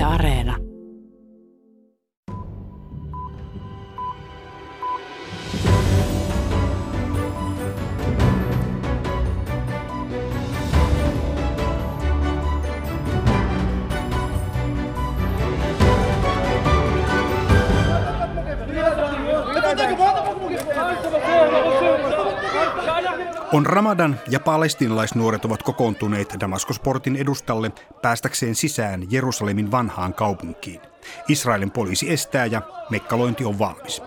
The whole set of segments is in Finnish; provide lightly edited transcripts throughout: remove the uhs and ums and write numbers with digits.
Areena. On Ramadan ja palestiinalaisnuoret ovat kokoontuneet Damaskosportin edustalle päästäkseen sisään Jerusalemin vanhaan kaupunkiin. Israelin poliisi estää ja mekkalointi on valmis.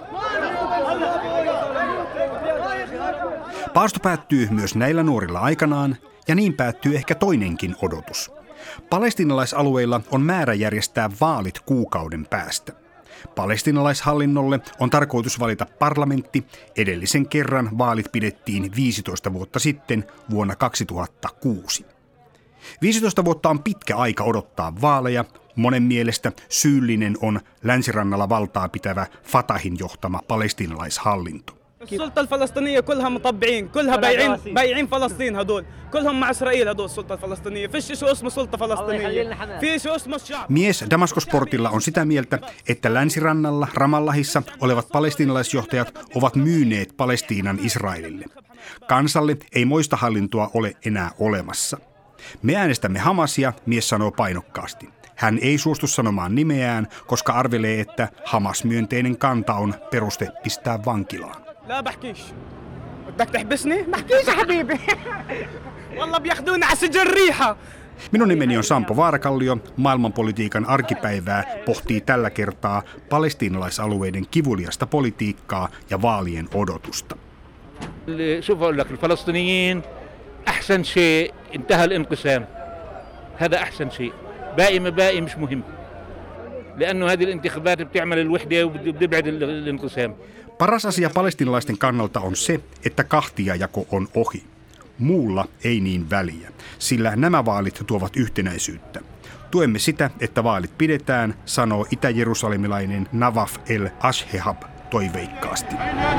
Paasto päättyy myös näillä nuorilla aikanaan ja niin päättyy ehkä toinenkin odotus. Palestiinalaisalueilla on määrä järjestää vaalit kuukauden päästä. Palestiinalaishallinnolle on tarkoitus valita parlamentti. Edellisen kerran vaalit pidettiin 15 vuotta sitten vuonna 2006. 15 vuotta on pitkä aika odottaa vaaleja. Monen mielestä syyllinen on länsirannalla valtaa pitävä Fatahin johtama palestiinalaishallinto. السلطة الفلسطينية كلها مطبعين كلها بايعين فلسطين هدول كلهم مع إسرائيل هدول السلطة الفلسطينية فيش شو اسمه سلطة فلسطينية في شو اسمه الشعب. Mies Damaskosportilla on sitä mieltä, että länsirannalla Ramallahissa olevat palestiinalaisjohtajat ovat myyneet Palestiinan Israelille. Kansalle ei moista hallintoa ole enää olemassa. Me äänestämme Hamasia, mies sanoo painokkaasti. Hän ei suostu sanomaan nimeään, koska arvelee, että Hamas-myönteinen kanta on peruste pistää vankilaan. لا بحكيش بدك تحبسني بحكيش يا حبيبي والله بياخذونا على سجن ريحة. Minun nimeni on Sampo Vaarakallio. Maailmanpolitiikan arkipäivää pohtii tällä kertaa palestiinalaisalueiden kivuliasta politiikkaa ja vaalien odotusta. شوف اقول لك الفلسطينيين احسن شيء انتهى الانقسام هذا احسن شيء باقي ما باقي مش مهم لانه هذه الانتخابات بتعمل الوحده وبتبعد الانقسام. Paras asia palestiinalaisten kannalta on se, että kahtiajako on ohi. Muulla ei niin väliä, sillä nämä vaalit tuovat yhtenäisyyttä. Tuemme sitä, että vaalit pidetään, sanoo itä-jerusalemilainen Nawaf el-Ashehab toiveikkaasti.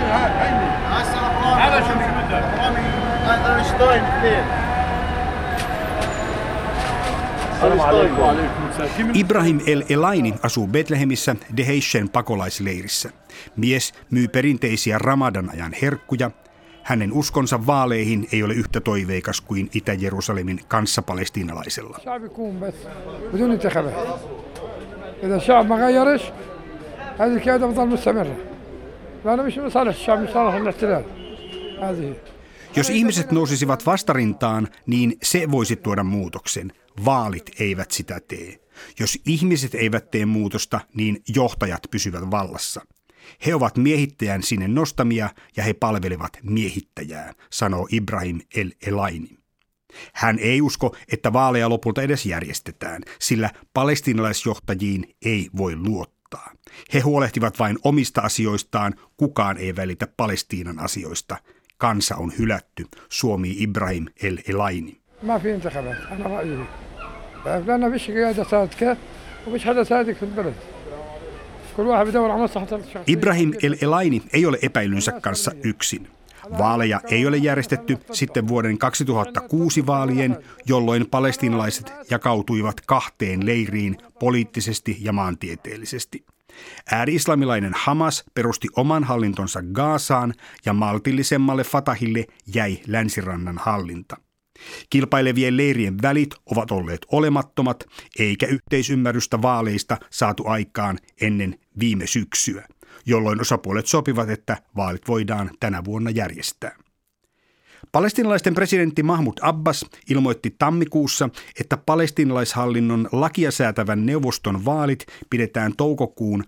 Ibrahim el-Elaini asuu Betlehemissä Deheishen pakolaisleirissä. Mies myy perinteisiä Ramadan-ajan herkkuja. Hänen uskonsa vaaleihin ei ole yhtä toiveikas kuin Itä-Jerusalemin kanssapalestiinalaisella. Jos ihmiset nousisivat vastarintaan, niin se voisi tuoda muutoksen. Vaalit eivät sitä tee. Jos ihmiset eivät tee muutosta, niin johtajat pysyvät vallassa. He ovat miehittäjän sinne nostamia ja he palvelevat miehittäjää, sanoo Ibrahim el-Elaini. Hän ei usko, että vaaleja lopulta edes järjestetään, sillä palestiinalaisjohtajiin ei voi luottaa. He huolehtivat vain omista asioistaan, kukaan ei välitä Palestiinan asioista. Kansa on hylätty, suomii Ibrahim el-Elaini. ما في انتخابات أنا رأيي لأن فيش قيادة صادقة وفيش حدا صادق في البلد كل واحد بدور على مصلحة الشعب. Ibrahim el-Elaini ei ole epäilynsä kanssa yksin. Vaaleja ei ole järjestetty sitten vuoden 2006 vaalien, jolloin palestiinalaiset jakautuivat kahteen leiriin poliittisesti ja maantieteellisesti. Ääri-islamilainen Hamas perusti oman hallintonsa Gazaan ja maltillisemmalle Fatahille jäi länsirannan hallinta. Kilpailevien leirien välit ovat olleet olemattomat, eikä yhteisymmärrystä vaaleista saatu aikaan ennen viime syksyä, jolloin osapuolet sopivat, että vaalit voidaan tänä vuonna järjestää. Palestiinalaisten presidentti Mahmoud Abbas ilmoitti tammikuussa, että palestiinalaishallinnon lakia säätävän neuvoston vaalit pidetään toukokuun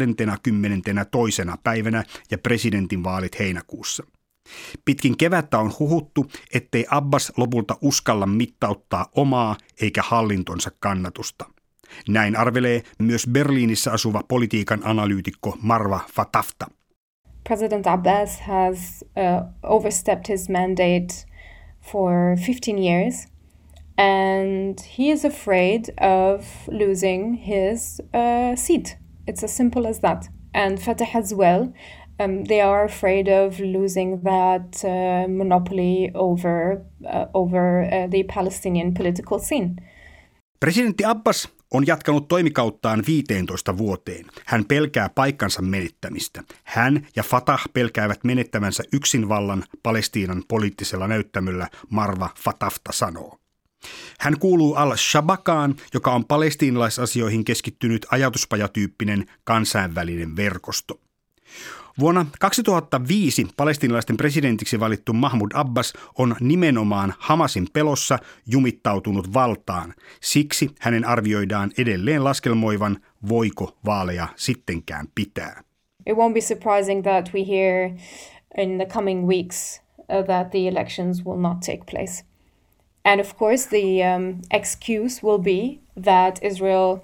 22. päivänä ja presidentinvaalit heinäkuussa. Pitkin kevättä on huhuttu, ettei Abbas lopulta uskalla mittauttaa omaa eikä hallintonsa kannatusta. Näin arvelee myös Berliinissä asuva politiikan analyytikko Marwa Fatafta. President Abbas has overstepped his mandate for 15 years and he is afraid of losing his seat. It's as simple as that. And Fatah as well. They are afraid of losing that monopoly over the Palestinian political scene. Presidentti Abbas on jatkanut toimikauttaan 15 vuoteen. Hän pelkää paikkansa menettämistä. Hän ja Fatah pelkäävät menettävänsä yksinvallan Palestiinan poliittisella näyttämöllä, Marwa Fatafta sanoo. Hän kuuluu al-Shabakaan, joka on palestiinalaisasioihin keskittynyt ajatuspajatyyppinen kansainvälinen verkosto. Vuonna 2005 palestiinalaisten presidentiksi valittu Mahmoud Abbas on nimenomaan Hamasin pelossa jumittautunut valtaan. Siksi hänen arvioidaan edelleen laskelmoivan, voiko vaaleja sittenkään pitää. It won't be surprising that we hear in the coming weeks that the elections will not take place. And of course the excuse will be that Israel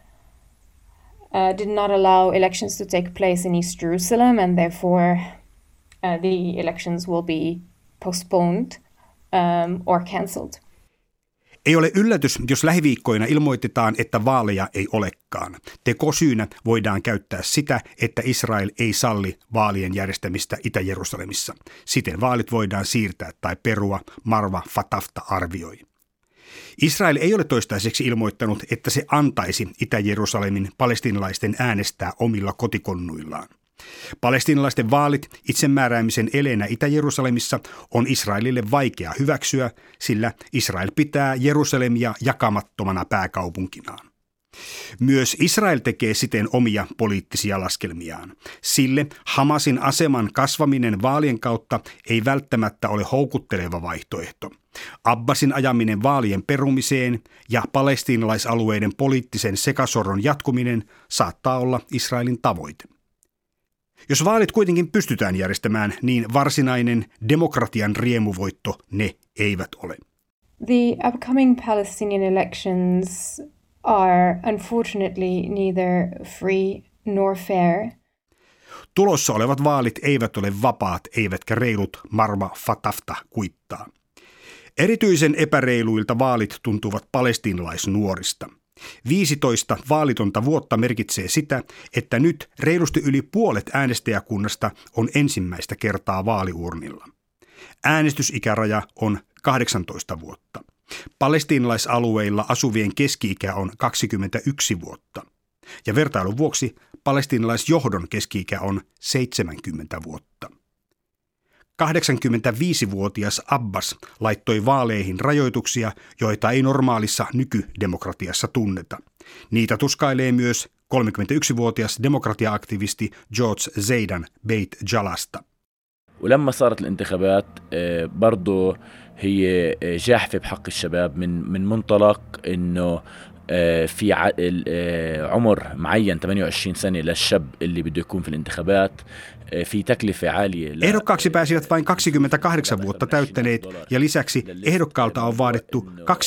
did not allow elections to take place in East Jerusalem, and therefore the elections will be postponed or cancelled. Ei ole yllätys, jos lähiviikkoina ilmoitetaan, että vaaleja ei olekaan. Tekosyynä voidaan käyttää sitä, että Israel ei salli vaalien järjestämistä Itä-Jerusalemissa. Siten vaalit voidaan siirtää tai perua, Marwa Fatafta arvioi. Israel ei ole toistaiseksi ilmoittanut, että se antaisi Itä-Jerusalemin palestiinalaisten äänestää omilla kotikonnuillaan. Palestiinalaisten vaalit itsemääräämisen eleenä Itä-Jerusalemissa on Israelille vaikea hyväksyä, sillä Israel pitää Jerusalemia jakamattomana pääkaupunkinaan. Myös Israel tekee siten omia poliittisia laskelmiaan. Sille Hamasin aseman kasvaminen vaalien kautta ei välttämättä ole houkutteleva vaihtoehto. Abbasin ajaminen vaalien perumiseen ja palestiinalaisalueiden poliittisen sekasorron jatkuminen saattaa olla Israelin tavoite. Jos vaalit kuitenkin pystytään järjestämään, niin varsinainen demokratian riemuvoitto ne eivät ole. The upcoming Palestinian elections are unfortunately neither free nor fair. Tulossa olevat vaalit eivät ole vapaat eivätkä reilut, Marwa Fatafta kuittaa. Erityisen epäreiluilta vaalit tuntuvat palestiinalaisnuorista. 15 vaalitonta vuotta merkitsee sitä, että nyt reilusti yli puolet äänestäjäkunnasta on ensimmäistä kertaa vaaliurnilla. Äänestysikäraja on 18 vuotta. Palestiinalaisalueilla asuvien keski-ikä on 21 vuotta. Ja vertailun vuoksi palestiinalaisjohdon keski-ikä on 70 vuotta. 85-vuotias Abbas laittoi vaaleihin rajoituksia, joita ei normaalissa nykydemokratiassa tunneta. Niitä tuskailee myös 31-vuotias demokratia-aktivisti George Zaidan Beit Jalasta. ولما صارت الانتخابات برضه هي جاحفة بحق الشباب من منطلق إنه في عمر معين 28 سنة للشاب اللي بده يكون في الانتخابات في تكلفة عالية. Ehdokkaaksi pääsivät vain 28 vuotta täyttäneet ja lisäksi ehdokkaalta on vaadittu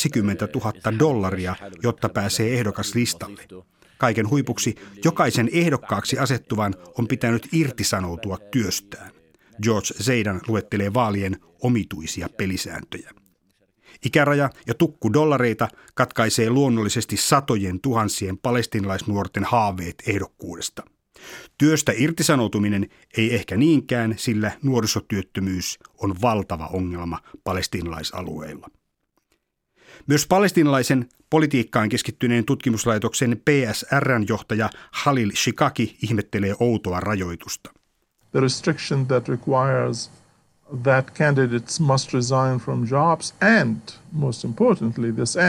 $20,000, jotta pääsee ehdokaslistalle. Kaiken huipuksi jokaisen ehdokkaaksi asettuvan on pitänyt irtisanoutua työstään. George Zaidan luettelee vaalien omituisia pelisääntöjä. Ikäraja ja tukku dollareita katkaisee luonnollisesti satojen tuhansien palestiinalaisnuorten haaveet ehdokkuudesta. Työstä irtisanoutuminen ei ehkä niinkään, sillä nuorisotyöttömyys on valtava ongelma palestiinalaisalueilla. Myös palestiinalaisen politiikkaan keskittyneen tutkimuslaitoksen PSR:n johtaja Khalil Shikaki ihmettelee outoa rajoitusta. The restriction that requires that candidates must resign from jobs and, most importantly,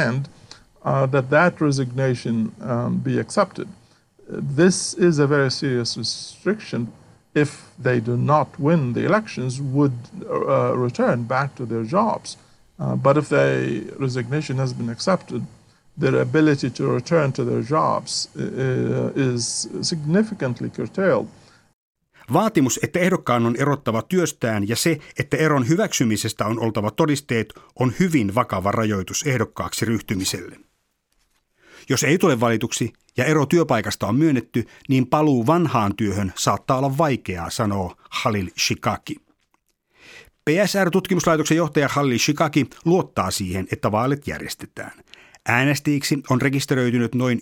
that resignation be accepted. This is a very serious restriction. If they do not win the elections, would return back to their jobs. But if the resignation has been accepted, their ability to return to their jobs is significantly curtailed. Vaatimus, että ehdokkaan on erottava työstään ja se, että eron hyväksymisestä on oltava todisteet, on hyvin vakava rajoitus ehdokkaaksi ryhtymiselle. Jos ei tule valituksi ja ero työpaikasta on myönnetty, niin paluu vanhaan työhön saattaa olla vaikeaa, sanoo Khalil Shikaki. PSR-tutkimuslaitoksen johtaja Khalil Shikaki luottaa siihen, että vaalit järjestetään. Äänestäjiksi on rekisteröitynyt noin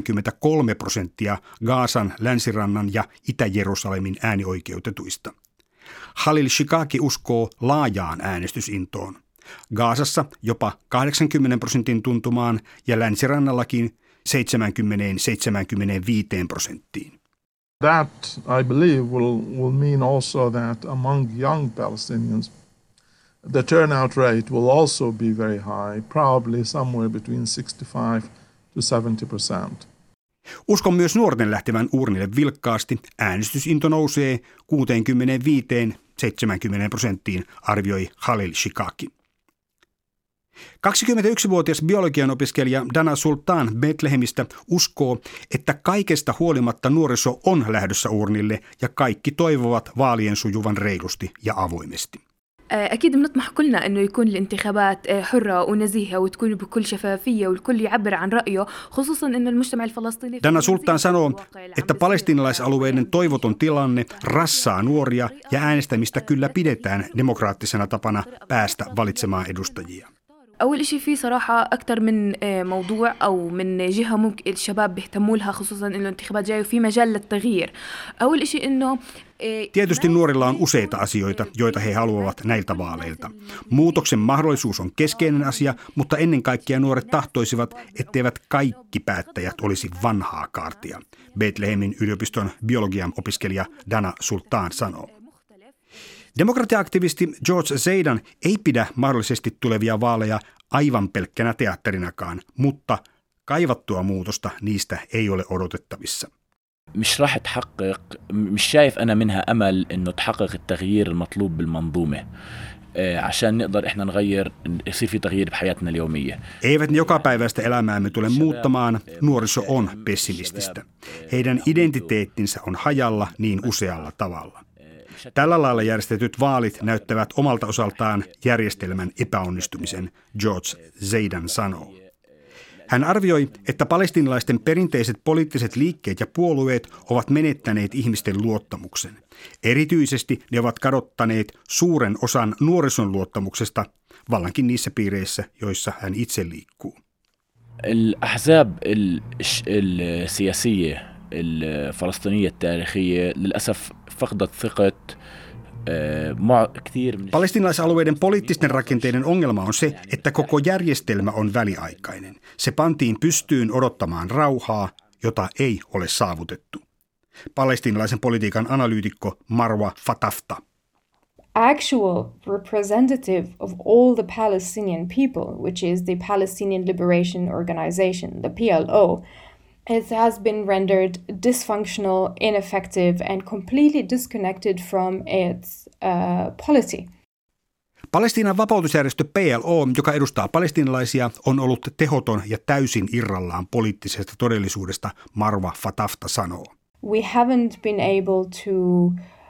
93% Gazan, Länsirannan ja Itä-Jerusalemin äänioikeutetuista. Khalil Shikaki uskoo laajaan äänestysintoon. Gazassa jopa 80% tuntumaan ja Länsirannallakin 70-75%. That, I believe, will mean also that among young Palestinians, the turnout rate will also be very high, probably somewhere between 65 to 70%. Uskon myös nuorten lähtevän uurnille vilkkaasti. Äänestysinto nousee 65-70%, arvioi Khalil Shikaki. 21-vuotias biologian opiskelija Dana Sultan Betlehemistä uskoo, että kaikesta huolimatta nuoriso on lähdössä urnille ja kaikki toivovat vaalien sujuvan reilusti ja avoimesti. أكيد بنطمح كلنا إنه يكون الانتخابات حرة ونزيهة وتكون بكل شفافية والكل يعبر عن رأيه خصوصا إنه المجتمع الفلسطيني. Dana Sultan sanoo, että palestiinalaisalueiden toivoton tilanne rassaa nuoria ja äänestämistä kyllä pidetään demokraattisena tapana päästä valitsemaan edustajia. أول إشي في صراحة أكثر من موضوع أو من جهة ممكن الشباب بيهتموا لها خصوصا إنه الانتخابات جاية وفي مجال للتغيير. أول إشي إنه Tietysti nuorilla on useita asioita, joita he haluavat näiltä vaaleilta. Muutoksen mahdollisuus on keskeinen asia, mutta ennen kaikkea nuoret tahtoisivat, etteivät kaikki päättäjät olisi vanhaa kaartia. Betlehemin yliopiston biologian opiskelija Dana Sultan sanoo. Demokratia-aktivisti George Zaidan ei pidä mahdollisesti tulevia vaaleja aivan pelkkänä teatterinakaan, mutta kaivattua muutosta niistä ei ole odotettavissa. مش راح تحقق مش شايف أنا منها أمل إنه تحقق التغيير المطلوب بالمنظومة عشان نقدر إحنا نغير يصير في تغيير بحياتنا اليومية. Eivät ne jokapäiväistä elämäämme tule muuttamaan, nuoriso on pessimististä. Heidän identiteettinsä on hajalla niin usealla tavalla. Tällä lailla järjestetyt vaalit näyttävät omalta osaltaan järjestelmän epäonnistumisen, George Zaidan sanoo. Hän arvioi, että palestiinalaisten perinteiset poliittiset liikkeet ja puolueet ovat menettäneet ihmisten luottamuksen. Erityisesti ne ovat kadottaneet suuren osan nuorison luottamuksesta, vallankin niissä piireissä, joissa hän itse liikkuu. الأحزاب السياسية الفلسطينية التاريخية للأسف فقدت ثقة. Palestiinalaisalueiden poliittisten rakenteiden ongelma on se, että koko järjestelmä on väliaikainen. Se pantiin pystyyn odottamaan rauhaa, jota ei ole saavutettu. Palestiinalaisen politiikan analyytikko Marwa Fatafta. Actual representative of all the Palestinian people, which is the Palestinian Liberation Organization, the PLO, it has been rendered dysfunctional, ineffective, and completely disconnected from its polity. Palestiinan vapautusjärjestö PLO, joka edustaa palestiinalaisia, on ollut tehoton ja täysin irrallaan poliittisesta todellisuudesta, Marwa Fatafta sanoo. We haven't been able to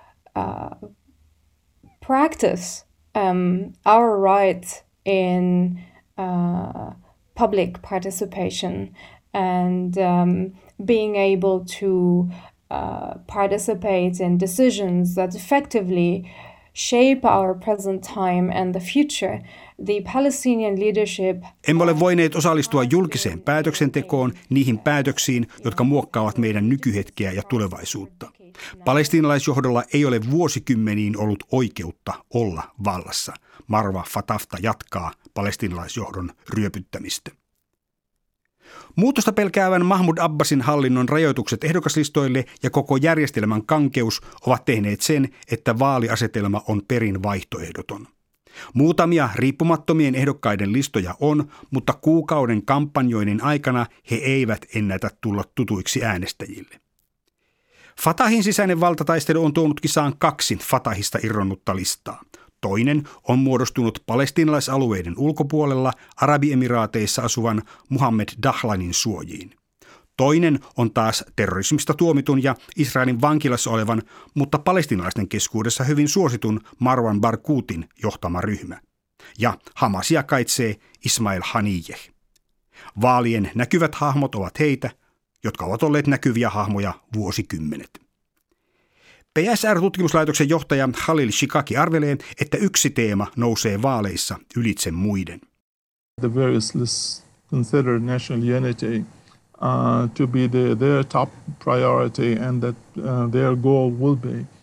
practice our right in public participation and being able to participate in decisions that effectively shape our present time and the future. The Palestinian leadership. Emme ole voineet osallistua julkiseen päätöksentekoon, niihin päätöksiin, jotka muokkaavat meidän nykyhetkeä ja tulevaisuutta. Palestiinalaisjohdolla ei ole vuosikymmeniin ollut oikeutta olla vallassa. Marwa Fatafta jatkaa palestiinalaisjohdon ryöpyttämistä. Muutosta pelkäävän Mahmoud Abbasin hallinnon rajoitukset ehdokaslistoille ja koko järjestelmän kankeus ovat tehneet sen, että vaaliasetelma on perin vaihtoehdoton. Muutamia riippumattomien ehdokkaiden listoja on, mutta kuukauden kampanjoinnin aikana he eivät ennätä tulla tutuiksi äänestäjille. Fatahin sisäinen valtataistelu on tuonut kisaan 2 Fatahista irronnutta listaa. Toinen on muodostunut palestiinalaisalueiden ulkopuolella Arabiemiraateissa asuvan Muhammed Dahlanin suojiin. Toinen on taas terrorismista tuomitun ja Israelin vankilassa olevan, mutta palestiinalaisten keskuudessa hyvin suositun Marwan Barghoutin johtama ryhmä. Ja Hamasia kaitsee Ismail Haniyeh. Vaalien näkyvät hahmot ovat heitä, jotka ovat olleet näkyviä hahmoja vuosikymmenet. PSR-tutkimuslaitoksen johtaja Khalil Shikaki arvelee, että yksi teema nousee vaaleissa ylitse muiden. The various lists consider national unity to be their top priority and that their goal will be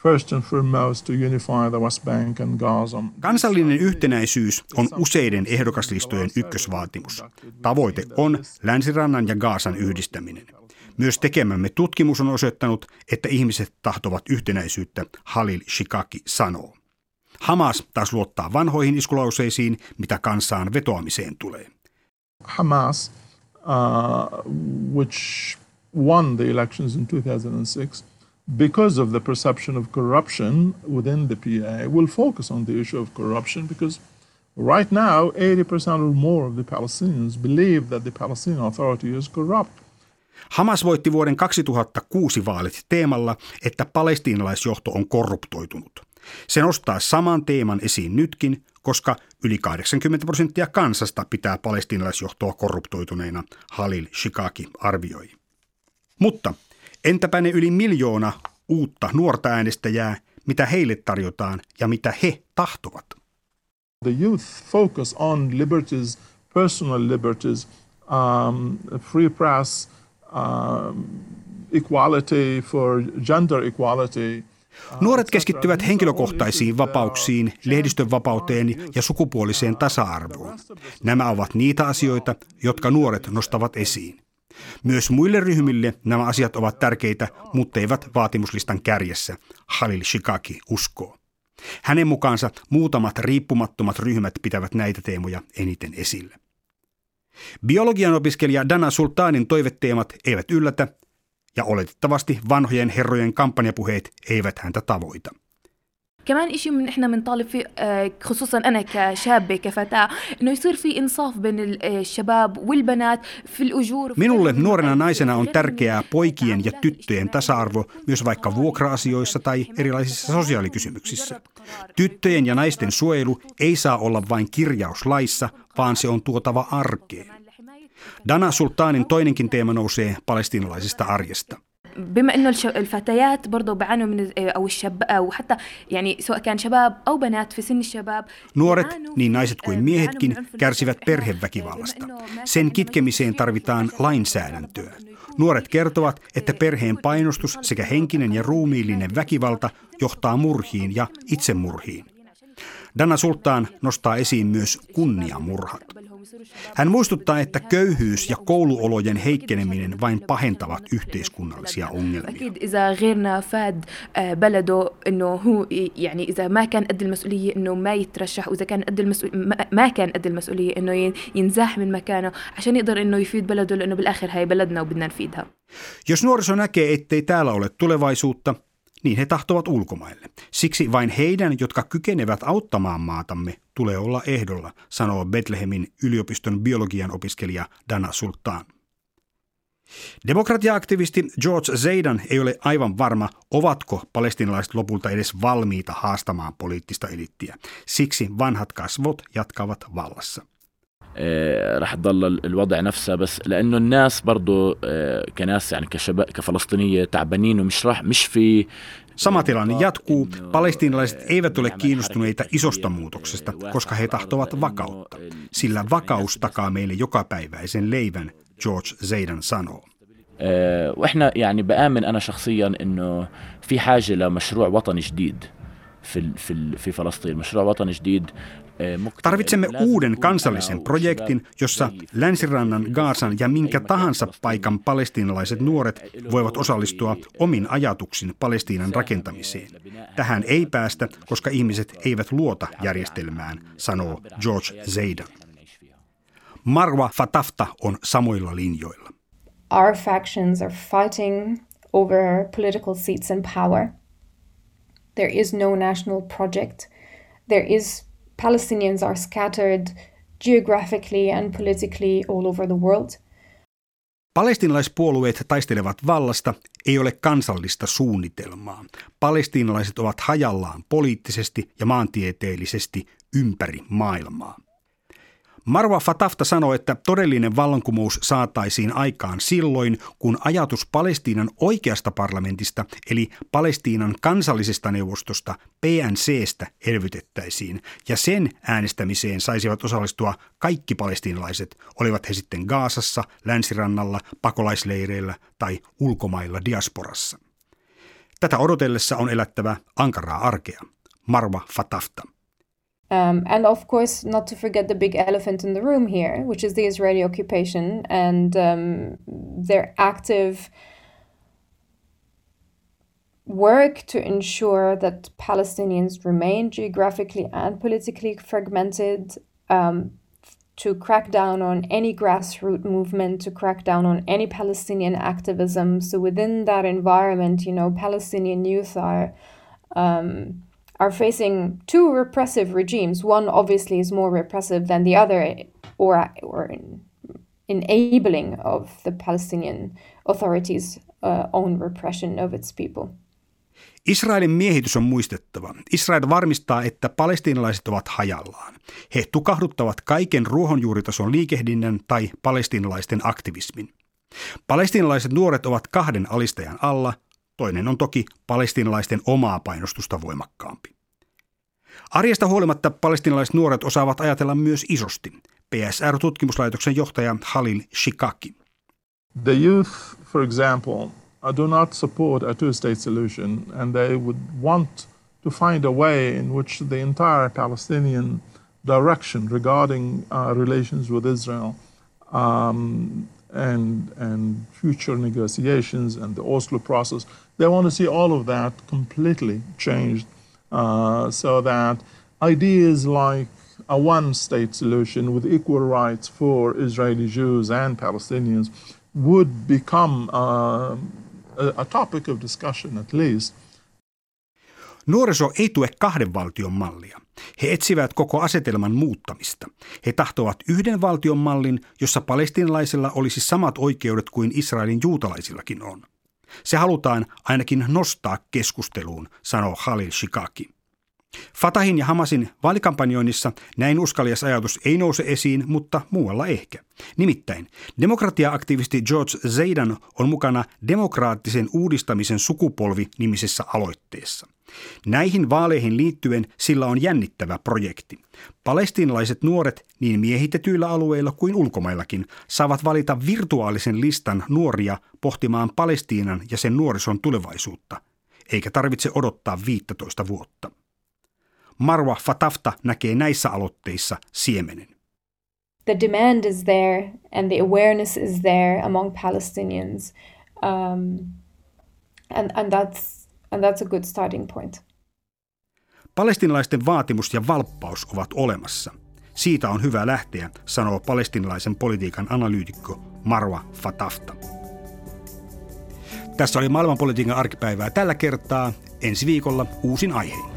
first and foremost to unify the West Bank and Gaza. Kansallinen yhtenäisyys on useiden ehdokaslistojen ykkösvaatimus. Tavoite on Länsirannan ja Gazan yhdistäminen. Myös tekemämme tutkimus on osoittanut, että ihmiset tahtovat yhtenäisyyttä, Khalil Shikaki sanoo. Hamas taas luottaa vanhoihin iskulauseisiin, mitä kansaan vetoamiseen tulee. Hamas, which won the elections in 2006, because of the perception of corruption within the PA, will focus on the issue of corruption because right now 80% or more of the Palestinians believe that the Palestinian Authority is corrupt. Hamas voitti vuoden 2006 vaalit teemalla, että palestiinalaisjohto on korruptoitunut. Se nostaa saman teeman esiin nytkin, koska yli 80% kansasta pitää palestiinalaisjohtoa korruptoituneena, Khalil Shikaki arvioi. Mutta entäpä ne yli 1 miljoona uutta nuorta äänestäjää, mitä heille tarjotaan ja mitä he tahtovat? The youth focus on liberties, personal liberties, free press, equality for gender equality. Nuoret keskittyvät henkilökohtaisiin vapauksiin, lehdistön vapauteen ja sukupuoliseen tasa-arvoon. Nämä ovat niitä asioita, jotka nuoret nostavat esiin. Myös muille ryhmille nämä asiat ovat tärkeitä, mutta eivät vaatimuslistan kärjessä, Khalil Shikaki uskoo. Hänen mukaansa muutamat riippumattomat ryhmät pitävät näitä teemoja eniten esillä. Biologian opiskelija Dana Sultanin toiveteemat eivät yllätä, ja oletettavasti vanhojen herrojen kampanjapuheet eivät häntä tavoita. كمان إشي من إحنا بنطالب فيه خصوصا أنا كشابة كفتاة إنه يصير في إنصاف بين الشباب والبنات في الأجور. Minulle nuorena naisena on tärkeää poikien ja tyttöjen tasa-arvo myös vaikka vuokra-asioissa tai erilaisissa sosiaalikysymyksissä. Tyttöjen ja naisten suojelu ei saa olla vain kirjaus laissa, vaan se on tuotava arkeen. Dana Sultanin toinenkin teema nousee palestiinalaisesta arjesta. بما إنه الفتيات برضو بيعانوا من أو الشباب أو حتى يعني سواء كان شباب أو بنات في سن الشباب. Nuoret, niin naiset kuin miehetkin, kärsivät perheväkivallasta. Sen kitkemiseen tarvitaan lainsäädäntöä. Nuoret kertovat, että perheen painostus sekä henkinen ja ruumiillinen väkivalta johtaa murhiin ja itsemurhiin. Dana Sultan nostaa esiin myös kunniamurhat. Hän muistuttaa, että köyhyys ja kouluolojen heikkeneminen vain pahentavat yhteiskunnallisia ongelmia. Jos nuoriso näkee, ettei täällä ole tulevaisuutta, niin he tahtovat ulkomaille. Siksi vain heidän, jotka kykenevät auttamaan maatamme, tulee olla ehdolla, sanoo Bethlehemin yliopiston biologian opiskelija Dana Sultan. Demokratia-aktivisti George Zaidan ei ole aivan varma, ovatko palestiinalaiset lopulta edes valmiita haastamaan poliittista eliittiä. Siksi vanhat kasvot jatkavat vallassa. رح تضل الوضع نفسه بس لانه الناس برضه كناس يعني كشباب كفلسطينيه تعبانين مش في. Sama tilanne jatkuu. Palestiinalaiset eivät ole kiinnostuneita isosta muutoksesta, koska he tahtovat vakautta. Sillä vakaus takaa meille jokapäiväisen leivän, George Zaidan sanoo. واحنا يعني بآمن انا شخصيا انه في حاجه لمشروع وطني جديد في فلسطين مشروع وطني جديد. Tarvitsemme uuden kansallisen projektin, jossa Länsirannan, Gazan ja minkä tahansa paikan palestiinalaiset nuoret voivat osallistua omin ajatuksin Palestiinan rakentamiseen. Tähän ei päästä, koska ihmiset eivät luota järjestelmään, sanoo George Zaidan. Marwa Fatafta on samoilla linjoilla. Our factions are fighting over political seats and power. There is no national project. Palestinians are scattered geographically and politically all over the world. Palestiinalaispuolueet taistelevat vallasta, ei ole kansallista suunnitelmaa. Palestiinalaiset ovat hajallaan poliittisesti ja maantieteellisesti ympäri maailmaa. Marwa Fatafta sanoi, että todellinen vallankumous saataisiin aikaan silloin, kun ajatus Palestiinan oikeasta parlamentista, eli Palestiinan kansallisesta neuvostosta, PNCstä, elvytettäisiin, ja sen äänestämiseen saisivat osallistua kaikki palestiinalaiset, olivat he sitten Gazassa, Länsirannalla, pakolaisleireillä tai ulkomailla diasporassa. Tätä odotellessa on elättävä ankaraa arkea. Marwa Fatafta. And of course, not to forget the big elephant in the room here, which is the Israeli occupation and their active work to ensure that Palestinians remain geographically and politically fragmented, to crack down on any grassroots movement, to crack down on any Palestinian activism. So within that environment, Palestinian youth are facing two repressive regimes. One obviously is more repressive than the other, or enabling of the Palestinian authorities' own repression of its people. Israelin miehitys on muistettava. Israel varmistaa, että palestiinalaiset ovat hajallaan. He tukahduttavat kaiken ruohonjuuritason liikehdinnän tai palestiinalaisten aktivismin. Palestiinalaiset nuoret ovat kahden alistajan alla. Toinen on toki palestiinalaisten omaa painostusta voimakkaampi. Arjesta huolimatta palestiinalaiset nuoret osaavat ajatella myös isosti. PSR-tutkimuslaitoksen johtaja Khalil Shikaki. The youth, for example, do not support a two-state solution, and they would want to find a way in which the entire Palestinian direction regarding relations with Israel and future negotiations and the Oslo process, they want to see all of that completely changed so that ideas like a one-state solution with equal rights for Israeli Jews and Palestinians would become a topic of discussion at least. Nuoriso ei tue kahden valtion mallia. He etsivät koko asetelman muuttamista. He tahtovat yhden valtion mallin, jossa palestiinalaisilla olisi samat oikeudet kuin Israelin juutalaisillakin on. Se halutaan ainakin nostaa keskusteluun, sanoo Khalil Shikaki. Fatahin ja Hamasin vaalikampanjoinnissa näin uskalias ajatus ei nouse esiin, mutta muualla ehkä. Nimittäin demokratia-aktivisti George Zaidan on mukana demokraattisen uudistamisen sukupolvi-nimisessä aloitteessa. Näihin vaaleihin liittyen sillä on jännittävä projekti. Palestiinalaiset nuoret niin miehitetyillä alueilla kuin ulkomaillakin saavat valita virtuaalisen listan nuoria pohtimaan Palestiinan ja sen nuorison tulevaisuutta, eikä tarvitse odottaa 15 vuotta. Marwa Fatafta näkee näissä aloitteissa siemenen. The demand is there and the awareness is there among Palestinians, and that's a good starting point. Palestiinalaisten vaatimus ja valppaus ovat olemassa. Siitä on hyvä lähteä, sanoo palestiinalaisen politiikan analyytikko Marwa Fatafta. Tässä oli maailmanpolitiikan arkipäivää tällä kertaa. Ensi viikolla uusin aihein.